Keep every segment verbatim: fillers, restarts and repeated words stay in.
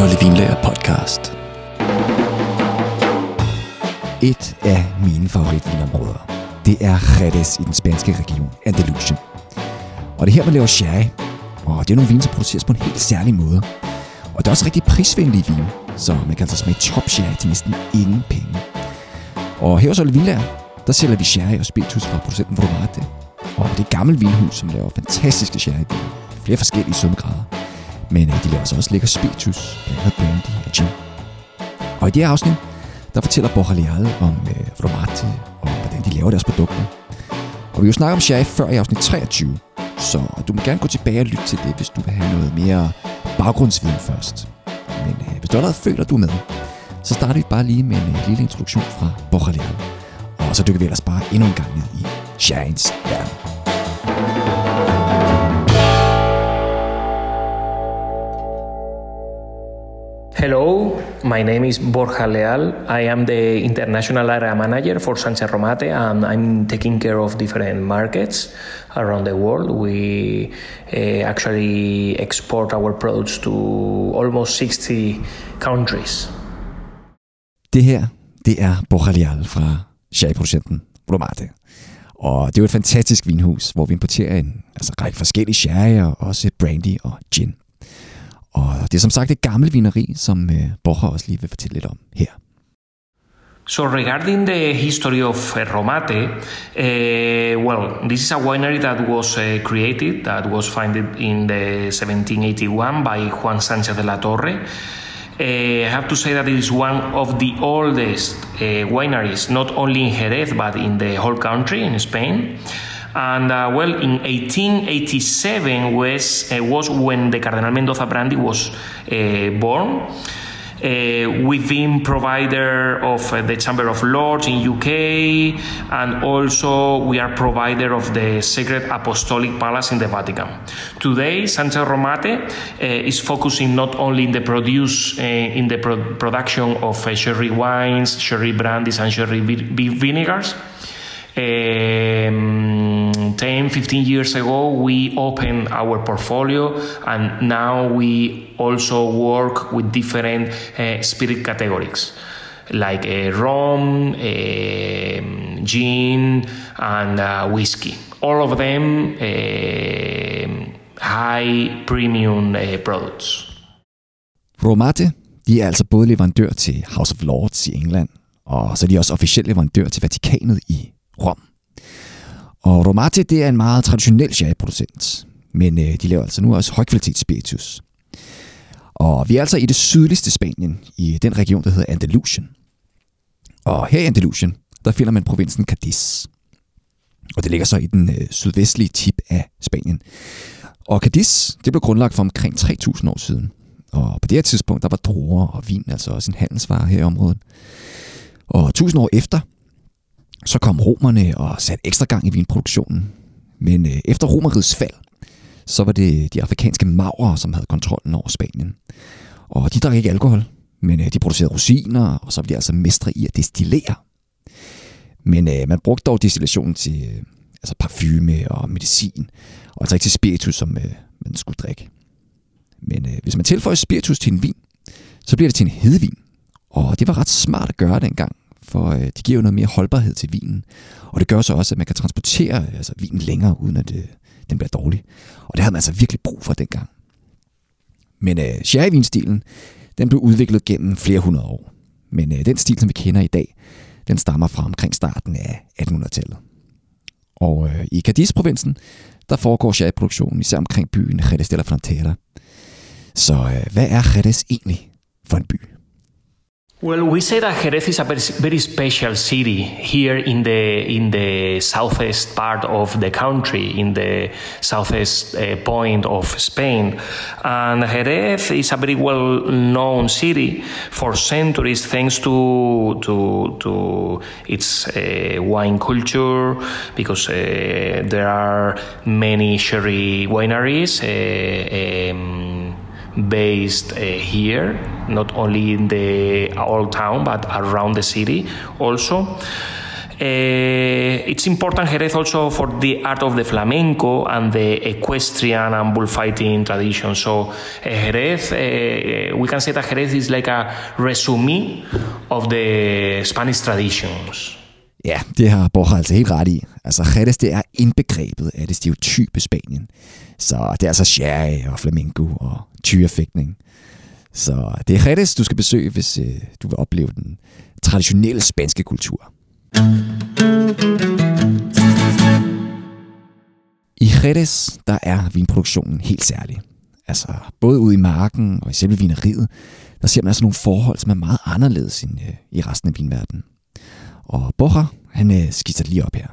Olli Vinlager podcast. Et af mine favoritvinområder, det er Jerez i den spanske region Andalusien. Og det er her, man laver sherry, og det er nogle vine, som produceres på en helt særlig måde. Og det er også rigtig prisvenlige vine, så man kan altså smage top sherry til næsten ingen penge. Og her hos Olli Vinlager, der sælger vi sherry og spiritus fra producenten Vromate. Og det er et gammelt vinhus, som laver fantastiske sherryvine, flere forskellige sødmegrader. Men de laver altså også lækker spiritus, blandt andet brandy og gin. Og i det her afsnit, der fortæller Borja Leal om øh, Vromate og hvordan de laver deres produkter. Og vi har jo snakket om sherry før i afsnit treogtyve, så du må gerne gå tilbage og lytte til det, hvis du vil have noget mere baggrundsviden først. Men øh, hvis du allerede føler, du er med, så starter vi bare lige med en øh, lille introduktion fra Borja Leal. Og så dykker vi ellers bare endnu en gang ned i sherryens verden. Hello, my name is Borja Leal. I am the international area manager for Sánchez Romate, and I'm taking care of different markets around the world. We uh, actually export our products to almost sixty countries. Det her, det er Borja Leal fra sherryproducenten Vromate. Og det er jo et fantastisk vinhus, hvor vi importerer en altså, række forskellige sherry og også brandy og gin. Og det er som sagt et gammelt vineri, som uh, Borja også lige vil fortælle lidt om her. So regarding the history of uh, Romate, uh, well, this is a winery that was uh, created, that was founded in the seventeen eighty-one by Juan Sánchez de la Torre. Uh, I have to say that it is one of the oldest uh, wineries, not only in Jerez, but in the whole country, in Spain. And uh, well, in eighteen eighty-seven was uh, was when the Cardenal Mendoza brandy was uh, born. Uh, we've been provider of uh, the Chamber of Lords in U K, and also we are provider of the Sacred Apostolic Palace in the Vatican. Today, Sánchez Romate uh, is focusing not only in the produce uh, in the pro- production of uh, sherry wines, sherry brandies, and sherry vi- vinegars. Um, ten, fifteen years ago, we opened our portfolio, and now we also work with different uh, spirit categories like uh, rum, uh, gin, and uh, whiskey. All of them uh, high premium uh, products. Vromate, de er altså både leverandør til House of Lords i England, og så er de også officielt leverandør til Vatikanet i Rom. Og Vromate, det er en meget traditionel sherryproducent, men øh, de laver altså nu også højkvalitets spiritus. Og vi er altså i det sydligste Spanien, i den region, der hedder Andalusien. Og her i Andalusien, der finder man provinsen Cádiz. Og det ligger så i den øh, sydvestlige tip af Spanien. Og Cádiz, det blev grundlagt for omkring tre tusind år siden. Og på det her tidspunkt, der var druer og vin altså også en handelsvare her i området. Og tusind år efter, så kom romerne og satte ekstra gang i vinproduktionen. Men øh, efter Romerrigets fald, så var det de afrikanske maurere, som havde kontrollen over Spanien. Og de drak ikke alkohol, men øh, de producerede rosiner, og så var de altså mestre i at destillere. Men øh, man brugte dog destillationen til øh, altså parfume og medicin, og altså ikke til spiritus, som øh, man skulle drikke. Men øh, hvis man tilføjer spiritus til en vin, så bliver det til en hedevin. Og det var ret smart at gøre dengang, for øh, det giver jo noget mere holdbarhed til vinen. Og det gør så også, at man kan transportere altså, vinen længere, uden at øh, den bliver dårlig. Og det havde man altså virkelig brug for dengang. Men øh, sherryvinstilen, den blev udviklet gennem flere hundrede år. Men øh, den stil, som vi kender i dag, den stammer fra omkring starten af attenhundredetallet. Og øh, i Cádiz-provinsen, der foregår sherryproduktionen især omkring byen Jerez de la Frontera. Så øh, hvad er Jerez egentlig for en by? Well, we say that Jerez is a very, very special city here in the in the southeast part of the country, in the southeast uh, point of Spain. And Jerez is a very well-known city for centuries, thanks to to to its uh, wine culture, because uh, there are many sherry wineries. Uh, um, based uh, here, not only in the old town but around the city also. Uh, it's important Jerez also for the art of the flamenco and the equestrian and bullfighting tradition. So uh, Jerez, uh, we can say that Jerez is like a resume of the Spanish traditions. Ja, det har Borja altså helt ret i. Altså Jerez, det er indbegrebet af det stereotype Spanien. Så det er altså sherry og flamenco og tyrefægtning. Så det er Jerez, du skal besøge, hvis øh, du vil opleve den traditionelle spanske kultur. I Jerez, der er vinproduktionen helt særlig. Altså både ude i marken og i selve vineriet, der ser man altså nogle forhold, som er meget anderledes end øh, i resten af vinverdenen. Og Borja, han øh, skitser lige op her.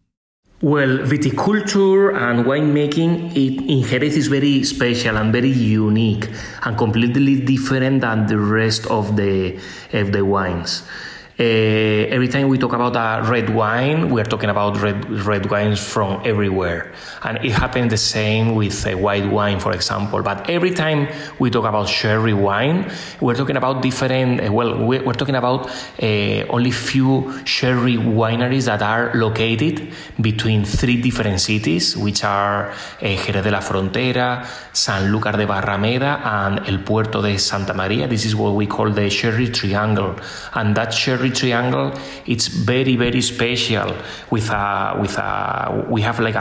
Well, viticulture and winemaking in Jerez is very special and very unique and completely different than the rest of the of the wines. Uh, every time we talk about a red wine, we are talking about red red wines from everywhere, and it happens the same with a white wine, for example. But every time we talk about sherry wine, we're talking about different. Uh, well, we're talking about uh, only few sherry wineries that are located between three different cities, which are uh, Jerez de la Frontera, Sanlúcar de Barrameda, and El Puerto de Santa Maria. This is what we call the sherry triangle, and that sherry triangle, it's very very special with a with a we have like a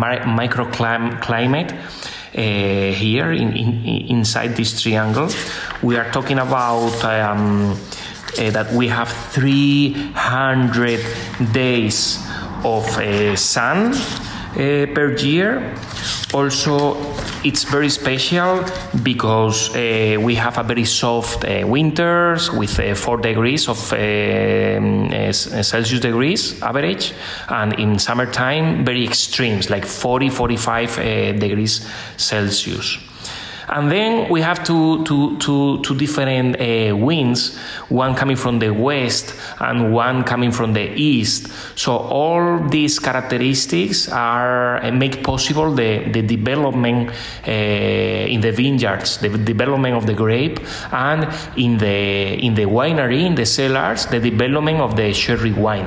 microclimate uh, here in, in inside this triangle. We are talking about um, uh, that we have three hundred days of uh, sun uh, per year. Also, it's very special because uh, we have a very soft uh, winters with uh, four degrees of uh, uh, Celsius degrees average, and in summertime very extremes like forty, forty-five uh, degrees Celsius. And then we have two, two, two, two different uh, winds, one coming from the west and one coming from the east. So all these characteristics are uh, make possible the, the development uh, in the vineyards, the development of the grape, and in the in the winery, in the cellars, the development of the sherry wine.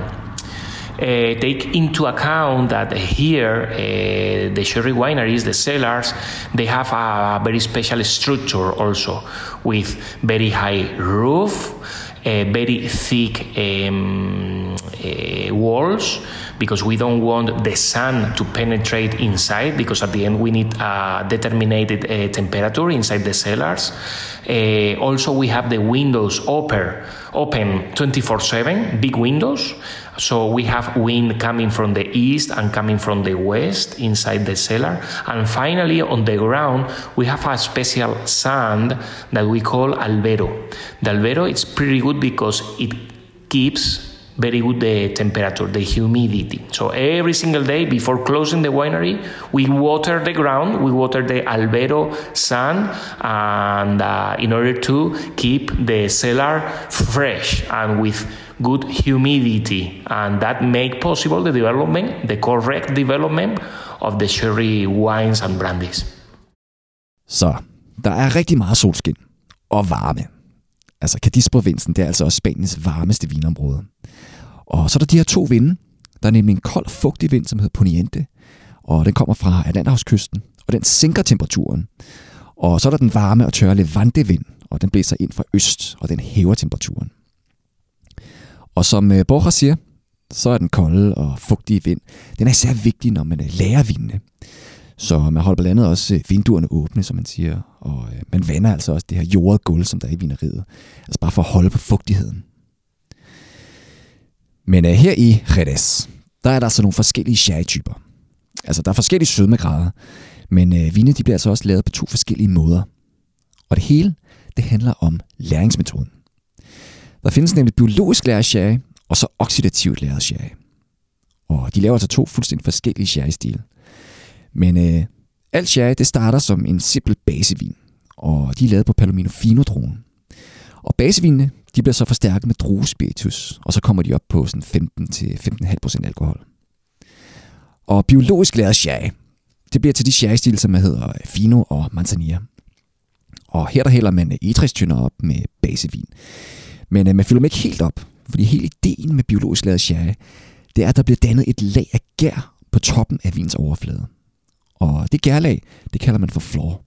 Uh, take into account that here uh, the sherry wineries, the cellars, they have a very special structure also with very high roof, uh, very thick um, uh, walls, because we don't want the sun to penetrate inside, because at the end we need a determined uh, temperature inside the cellars. Uh, also we have the windows open, open twenty-four seven, big windows. So we have wind coming from the east and coming from the west inside the cellar. And finally, on the ground, we have a special sand that we call albero. The albero is pretty good because it keeps very good the temperature, the humidity. So every single day before closing the winery, we water the ground, we water the albero sand, and uh, in order to keep the cellar fresh and with good humidity, and that make possible the development, the correct development of the sherry wines and brandies. Så der er rigtig meget solskin og varme. Altså Cadiz-provinsen, det er altså også Spaniens varmeste vinområde. Og så er der de her to vinde. Der er nemlig en kold og fugtig vind, som hedder Poniente, og den kommer fra Atlanterhavskysten, og den sænker temperaturen. Og så er der den varme og tørre Levante-vind, og den blæser ind fra øst, og den hæver temperaturen. Og som Borja siger, så er den kolde og fugtige vind, den er især vigtig, når man lærer vindene. Så man holder blandt andet også vinduerne åbne, som man siger, og man vander altså også det her jordede gulv, som der er i vineriet. Altså bare for at holde på fugtigheden. Men uh, her i Jerez, der er der altså nogle forskellige sherry-typer. Altså der er forskellige sødmegrader, men uh, vine de bliver altså også lavet på to forskellige måder. Og det hele, det handler om læringsmetoden. Der findes nemlig biologisk læret sherry, og så oxidativt læret sherry. Og de laver altså to fuldstændig forskellige sherry-stile. Men øh, alt sherry, det starter som en simpel basevin, og de er lavet på Palomino Fino-druen. Og basevinene, de bliver så forstærket med druespiritus, og så kommer de op på sådan femten til femten komma fem procent alkohol. Og biologisk læret sherry, det bliver til de sherry-stile, som hedder Fino og Manzanilla. Og her der hælder man egetræstønder op med basevin. Men øh, man fylder dem ikke helt op, fordi hele ideen med biologisk læret sherry, det er, at der bliver dannet et lag af gær på toppen af vins overflade. Og det gærlag, det kalder man for flor.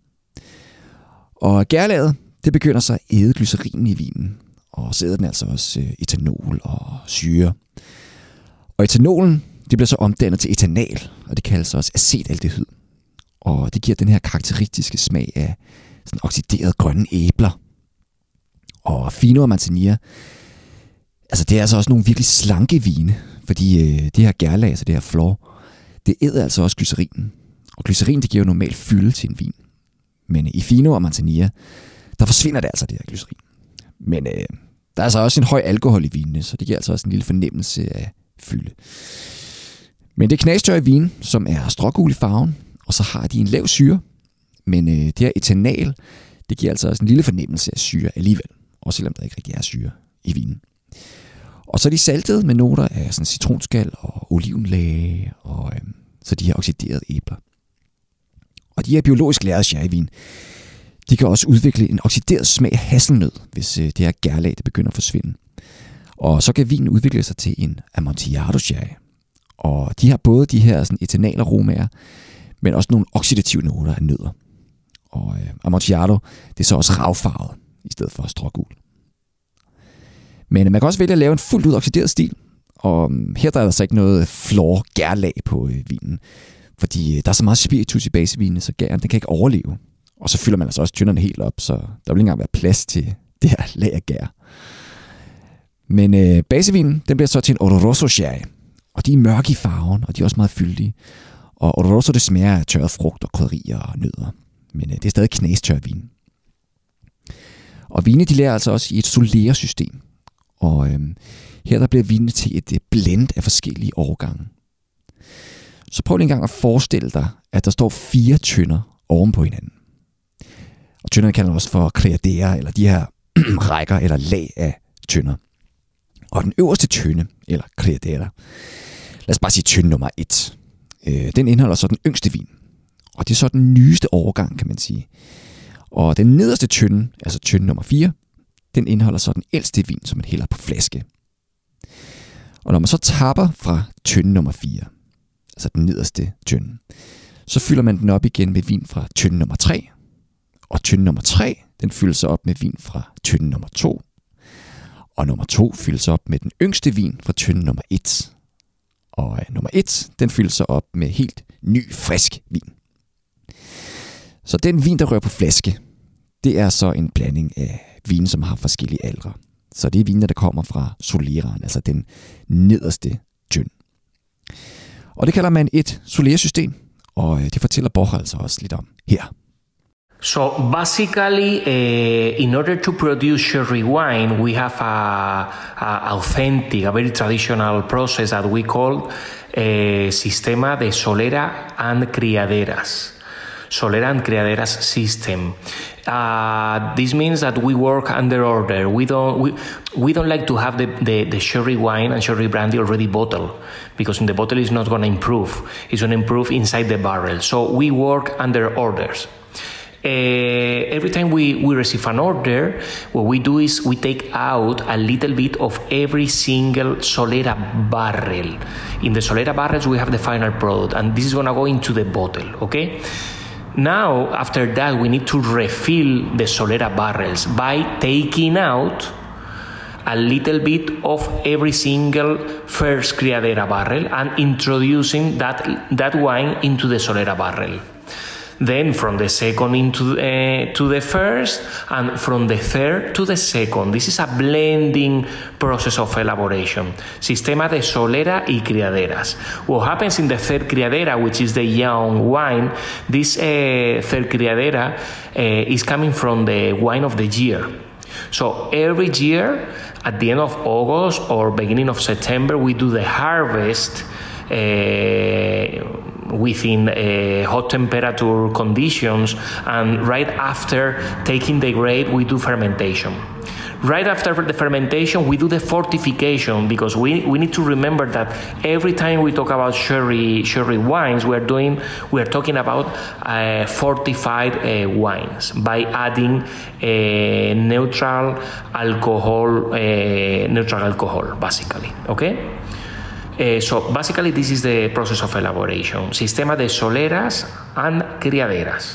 Og gærlaget, det begynder så at æde glycerinen i vinen, og så æder den altså også etanol og syre. Og etanolen, det bliver så omdannet til etanal, og det kaldes også acetaldehyd. Og det giver den her karakteristiske smag af sådan oxiderede grønne æbler. Og Fino og Manzanilla, altså det er altså også nogle virkelig slanke vine, fordi øh, det her gærlag, altså det her flor, det æder altså også glycerinen. Og glycerin, det giver jo normalt fylde til en vin. Men i Fino og Manzanilla, der forsvinder det altså, det her glycerin. Men øh, der er altså også en høj alkohol i vinene, så det giver altså også en lille fornemmelse af fylde. Men det er knastørre vin, som er strågul i farven, og så har de en lav syre. Men øh, det her etanal, det giver altså også en lille fornemmelse af syre alligevel. Også selvom der ikke rigtig er syre i vinen. Og så er de saltet med noter af sådan citronskal og olivenlage, og øh, så de her oxiderede æbler. Og de her biologisk lærede sherryvin, de kan også udvikle en oxideret smag af hasselnød, hvis øh, det her gærlag det begynder at forsvinde. Og så kan vinen udvikle sig til en Amontillado sherry. Og de har både de her sådan, etanalaromærer, men også nogle oxidative noter af nødder. Og øh, Amontillado, det er så også ravfarvet, i stedet for strågul. Men man kan også vælge at lave en fuldt ud oxideret stil. Og her der er altså ikke noget flor gærlag på øh, vinen. Fordi øh, der er så meget spiritus i basevinen, så gæren den kan ikke overleve. Og så fylder man altså også tynderne helt op, så der vil ikke engang være plads til det her lag af gær. Men øh, basevinen, den bliver så til en Oloroso sherry. Og de er mørke i farven, og de er også meget fyldige. Og Oloroso, det smager af tørret frugt og krydderier og nødder. Men øh, det er stadig knastør vin. Og vine, de lærer altså også i et solera-system. Og øh, her der bliver vinene til et blend af forskellige årgange. Så prøv lige engang at forestille dig, at der står fire tønder oven på hinanden. Og tønderne kalder man også for criadera, eller de her rækker eller lag af tønder. Og den øverste tønde, eller criadera, lad os bare sige tønde nummer et, øh, den indeholder så den yngste vin. Og det er så den nyeste årgang, kan man sige. Og den nederste tønde, altså tønde nummer fire, den indeholder så den ældste vin, som man hælder på flaske. Og når man så tapper fra tønde nummer fire, altså den nederste tønde, så fylder man den op igen med vin fra tønde nummer tre. Og tønde nummer tre, den fyldes så op med vin fra tønde nummer to. Og nummer to fyldes op med den yngste vin fra tønde nummer et. Og nummer et, den fyldes så op med helt ny, frisk vin. Så den vin, der rører på flaske, det er så en blanding af vine, som har forskellige aldre. Så det er viner, der kommer fra soleraen, altså den nederste tønde. Og det kalder man et solera-system, og det fortæller Borja altså også lidt om her. So basically, uh, in order to produce sherry wine, we have a, a authentic, a very traditional process that we call uh, Sistema de Solera and Criaderas. Solera and Criaderas system. Uh, this means that we work under order. We don't we, we don't like to have the, the, the sherry wine and sherry brandy already bottled, because in the bottle is not going to improve. It's going to improve inside the barrel. So we work under orders. Uh, every time we, we receive an order, what we do is we take out a little bit of every single Solera barrel. In the Solera barrels, we have the final product, and this is going to go into the bottle, okay? Now, after that, we need to refill the Solera barrels by taking out a little bit of every single first Criadera barrel and introducing that, that wine into the Solera barrel. Then from the second into uh, to the first, and from the third to the second. This is a blending process of elaboration. Sistema de Solera y Criaderas. What happens in the third Criadera, which is the young wine, this uh, third Criadera uh, is coming from the wine of the year. So every year, at the end of August or beginning of September, we do the harvest uh, within uh, hot temperature conditions, and right after taking the grape, we do fermentation. Right after the fermentation, we do the fortification, because we, we need to remember that every time we talk about sherry sherry wines, we are doing we are talking about uh, fortified uh, wines by adding uh, neutral alcohol, uh, neutral alcohol, basically. Okay. Uh, so basically this is the process of elaboration. Sistema de soleras and criaderas.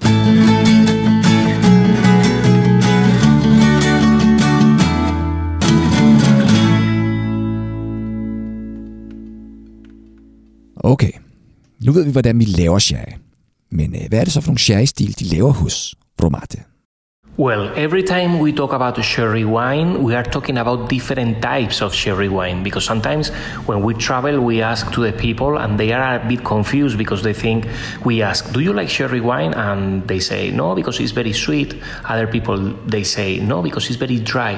Okay, nu ved vi, hvordan vi laver sherry. Men hvad er det så for nogle sherry-stil, de laver hos Romate? Well, every time we talk about sherry wine, we are talking about different types of sherry wine, because sometimes when we travel, we ask to the people and they are a bit confused because they think we ask, do you like sherry wine? And they say, no, because it's very sweet. Other people, they say, no, because it's very dry.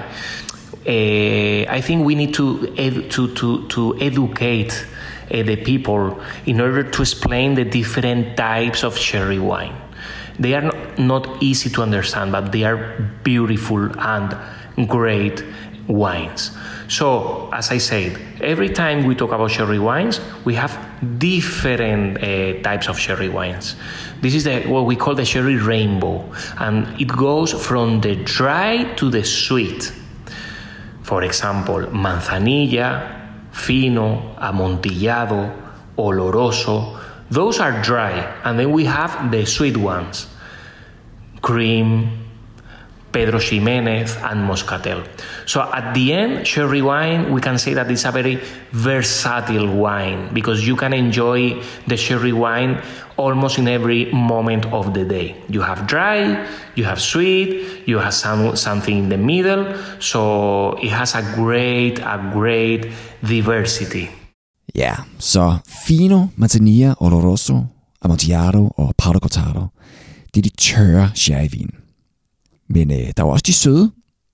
Uh, I think we need to, ed- to, to, to educate uh, the people in order to explain the different types of sherry wine. They are not, not easy to understand, but they are beautiful and great wines. So, as I said, every time we talk about sherry wines, we have different uh, types of sherry wines. This is the, what we call the sherry rainbow, and it goes from the dry to the sweet. For example, manzanilla, fino, amontillado, oloroso. Those are dry, and then we have the sweet ones, cream, Pedro Ximénez, and Moscatel. So at the end, sherry wine, we can say that it's a very versatile wine because you can enjoy the sherry wine almost in every moment of the day. You have dry, you have sweet, you have some, something in the middle, so it has a great, a great diversity. Ja, så fino, manzanilla, oloroso, amontillado og powder cortado, det er de tørre sherryvin. Men øh, der er også de søde.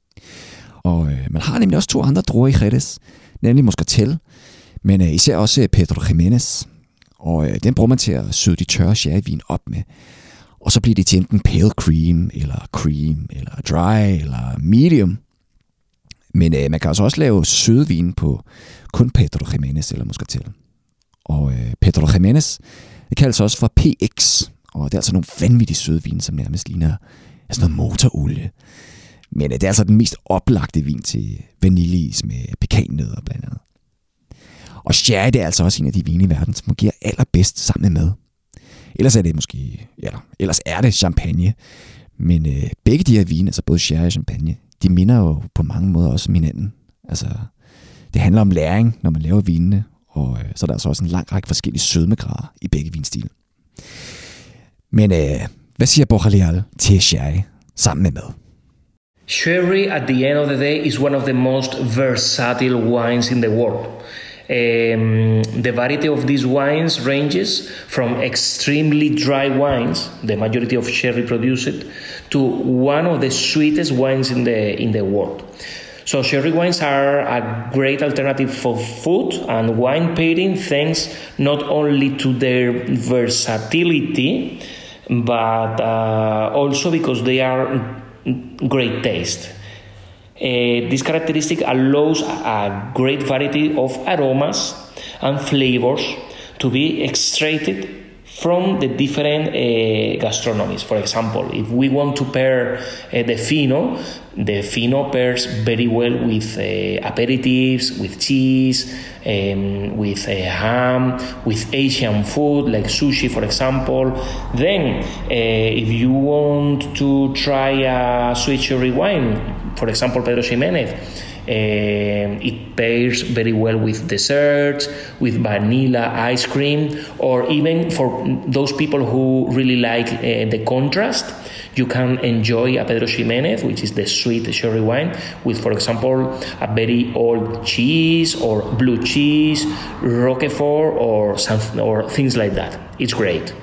Og øh, man har nemlig også to andre druer i Jerez, nemlig Moscatel, men øh, især også Pedro Ximénez. Og øh, den bruger man til at søde de tørre sherryvin op med. Og så bliver det til enten pale cream, eller cream, eller dry, eller medium. Men øh, man kan altså også lave sødvin på kun Pedro Ximénez eller Moscatel. Og øh, Pedro Ximénez, det kaldes også for P X, og det er altså nogle vanvittige sødvin, som nærmest ligner sådan noget motorolie. Men øh, det er altså den mest oplagte vin til vaniljeis med pekannødder blandt andet. Og sherry, det er altså også en af de vine i verden, som fungerer allerbedst sammen med mad. Ellers er det måske, ja, ellers er det champagne. Men øh, begge de her vine, altså både sherry og champagne, de minder jo på mange måder også om hinanden. Altså, det handler om læring, når man laver vinene, og øh, så er der altså også en lang række forskellige sødmegrader i begge vinstile. Men øh, hvad siger Borja til sherry sammen med mad? Sherry, at the end of the day, is one of the most versatile wines in the world. Um, the variety of these wines ranges from extremely dry wines, the majority of sherry produced, to one of the sweetest wines in the in the world. So sherry wines are a great alternative for food and wine pairing, thanks not only to their versatility, but uh, also because they are great taste. Uh, this characteristic allows a great variety of aromas and flavors to be extracted from the different uh, gastronomies. For example, if we want to pair uh, the fino, the fino pairs very well with uh, aperitifs, with cheese, um, with uh, ham, with Asian food like sushi, for example. Then, uh, if you want to try a sweet sherry wine, for example, Pedro Ximénez, Uh, it pairs very well with desserts, with vanilla ice cream, or even for those people who really like uh, the contrast, you can enjoy a Pedro Ximénez, which is the sweet sherry wine, with, for example, a very old cheese or blue cheese, Roquefort, or something, or things like that. It's great.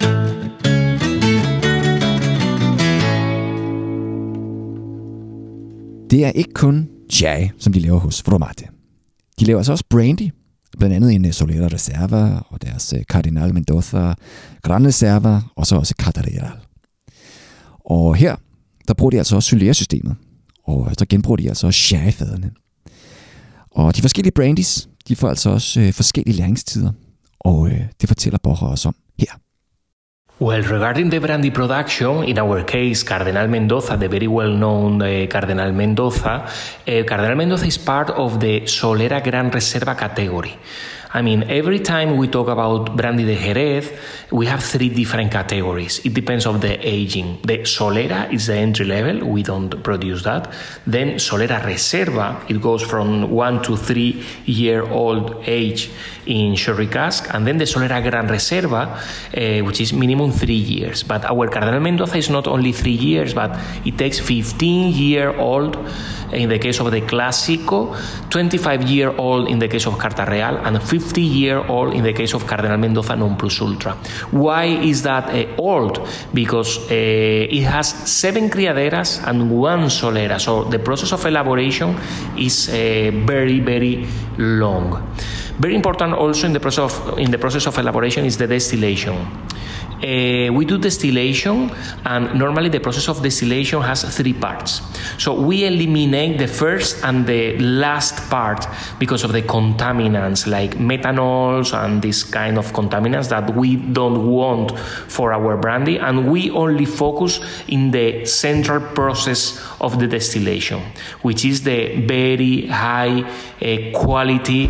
Det er ikke kun sherry, som de laver hos Romate. De laver altså også brandy, blandt andet en Solera Reserva og deres Cardenal Mendoza, Gran Reserva og så også Catedral. Og her, der bruger de altså også Solera-systemet, og så genbruger de altså også sherryfaderne. Og de forskellige brandies, de får altså også øh, forskellige læringstider, og øh, det fortæller Borja også om her. Well, regarding the brandy production, in our case, Cardenal Mendoza, the very well-known uh, Cardenal Mendoza, uh, Cardenal Mendoza is part of the Solera Gran Reserva category. I mean, every time we talk about Brandy de Jerez, we have three different categories. It depends on the aging. The Solera is the entry level. We don't produce that. Then Solera Reserva, it goes from one to three year old age in sherry cask. And then the Solera Gran Reserva, uh, which is minimum three years. But our Cardenal Mendoza is not only three years, but it takes fifteen year old in the case of the Clásico, twenty-five year old in the case of Carta Real, and fifty year old in the case of Cardenal Mendoza Non Plus Ultra. Why is that uh, old? Because uh, it has seven criaderas and one solera, so the process of elaboration is uh, very, very long. Very important also in the process of, in the process of elaboration is the distillation. Uh, we do distillation, and normally the process of distillation has three parts. So we eliminate the first and the last part because of the contaminants like methanols and this kind of contaminants that we don't want for our brandy, and we only focus in the central process of the distillation, which is the very high uh, quality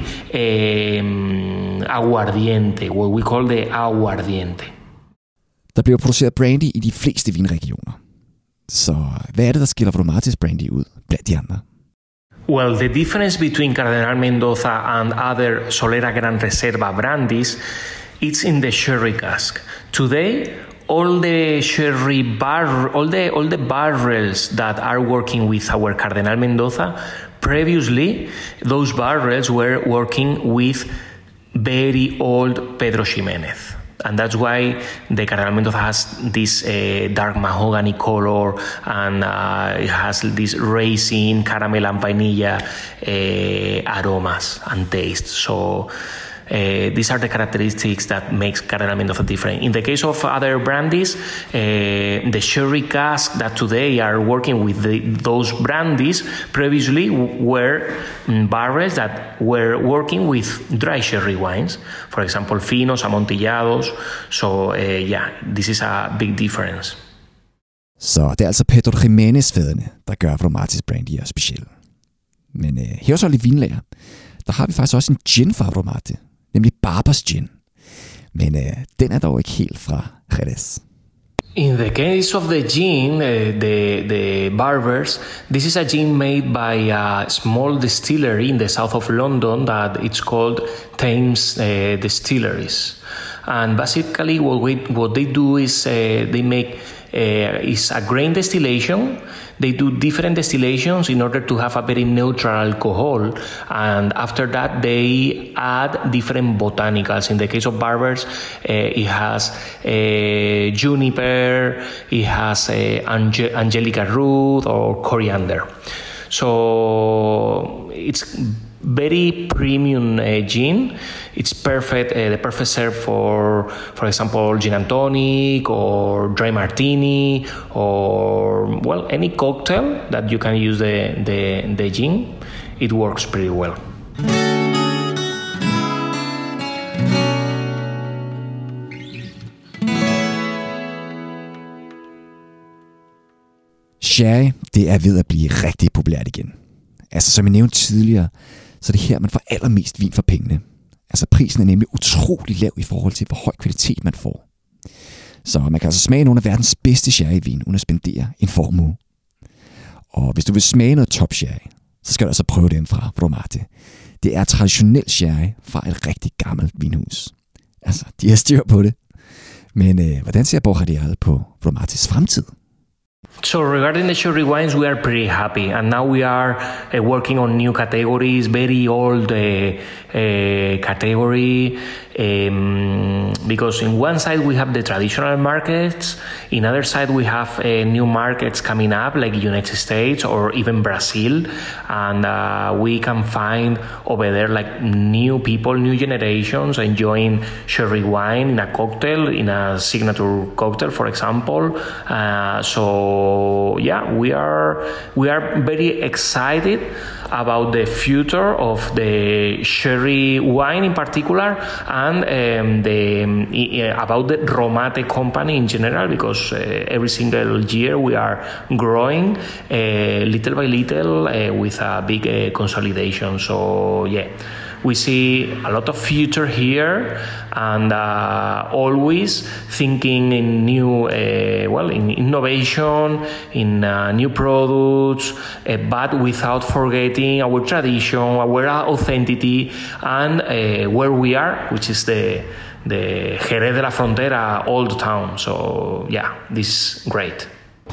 um, aguardiente, what we call the aguardiente. Der bliver produceret brandy i de fleste vinregioner. Så hvad er det, der skiller Vromatis brandy ud blandt de andre? Well, the difference between Cardenal Mendoza and other Solera Gran Reserva brandies, it's in the sherry cask. Today, all the sherry bar, all the all the barrels that are working with our Cardenal Mendoza, previously those barrels were working with very old Pedro Ximénez. And that's why the Cardenal Mendoza has this uh, dark mahogany color, and uh, it has this raisin, caramel and vanilla uh, aromas and taste. So uh, these are the characteristics that makes Cardenal Mendoza different. In the case of other brandies, uh, the sherry cask that today are working with the, those brandies previously were um, barrels that were working with dry sherry wines. For example, finos, amontillados. So uh, yeah, this is a big difference. Så det er altså Pedro Ximénez-fædrene, der gør Vromatis brandy speciel. Men øh, her hos Olli Vinlager, der har vi faktisk også en gin fra Vromati, nemlig Barbers Gin. Men øh, den er dog ikke helt fra Jerez. In the case of the gin, uh, the the Barbers, this is a gin made by a small distillery in the south of London that it's called Thames uh, Distilleries. And basically what we, what they do is uh, they make uh, is a grain distillation. They do different distillations in order to have a very neutral alcohol, and after that they add different botanicals. In the case of Barbers, uh, it has uh, juniper, it has uh, ange- angelica root or coriander. So it's very premium uh, gin. It's perfect, uh, the perfect serve for, for example, gin and tonic or dry martini or, well, any cocktail that you can use the, the, the gin. It works pretty well. Sherry, det er ved at blive rigtig populært igen. Altså, som jeg nævnte tidligere, så er det her, man får allermest vin for pengene. Altså, prisen er nemlig utrolig lav i forhold til, hvor høj kvalitet man får. Så man kan altså smage nogle af verdens bedste sherryvin, uden at spendere en formue. Og hvis du vil smage noget top sherry, så skal du altså prøve den fra Vromati. Det er traditionel sherry fra et rigtig gammelt vinhus. Altså, de har styr på det. Men øh, hvordan ser Borja Rial på Vromatis fremtid? So regarding the sherry wines, we are pretty happy, and now we are uh, working on new categories, very old uh, uh, category, um, because in one side we have the traditional markets, in other side we have uh, new markets coming up like United States or even Brazil, and uh, we can find over there like new people, new generations enjoying sherry wine in a cocktail, in a signature cocktail, for example. Uh, so So yeah, we are we are very excited about the future of the sherry wine in particular, and um, the uh, about the Vromati company in general, because uh, every single year we are growing uh, little by little uh, with a big uh, consolidation. So yeah, we see a lot of future here, and uh, always thinking in new, uh, well, in innovation, in uh, new products, uh, but without forgetting our tradition, our authenticity, and uh, where we are, which is the the Jerez de la Frontera old town. So yeah, this is great.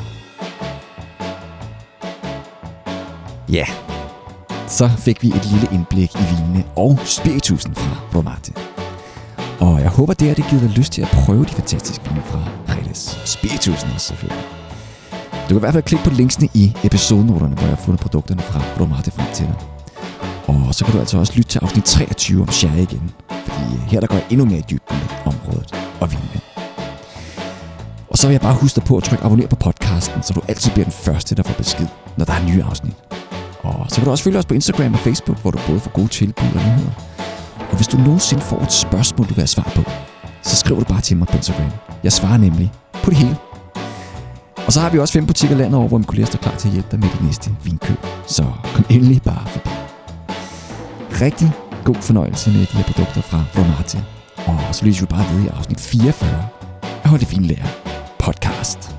Ja, så fik vi et lille indblik i vinene og spiritusen fra Romate. Og jeg håber, det har det givet dig lyst til at prøve de fantastiske vine fra Jerez. Spiritusen også selvfølgelig. Du kan i hvert fald klikke på linksene i episodenoterne, hvor jeg har fundet produkterne fra Romate frem til dig. Og så kan du altså også lytte til afsnit treogtyve om sherry igen, fordi her der går jeg endnu mere i dybden med området og vinene. Og så vil jeg bare huske dig på at trykke abonner på podcasten, så du altid bliver den første, der får besked, når der er nye afsnit. Og så kan du også følge os på Instagram og Facebook, hvor du både får gode tilbud og nyheder. Og hvis du nogensinde får et spørgsmål, du vil have svar på, så skriv du bare til mig på Instagram. Jeg svarer nemlig på det hele. Og så har vi også fem butikker landet over, hvor min kollega står klar til at hjælpe dig med dit næste vinkøb. Så kom endelig bare forbi. Rigtig god fornøjelse med de her produkter fra Romate. Og så lyser vi bare ved i afsnit fireogfyrre af Hold det Fine Lærer podcast.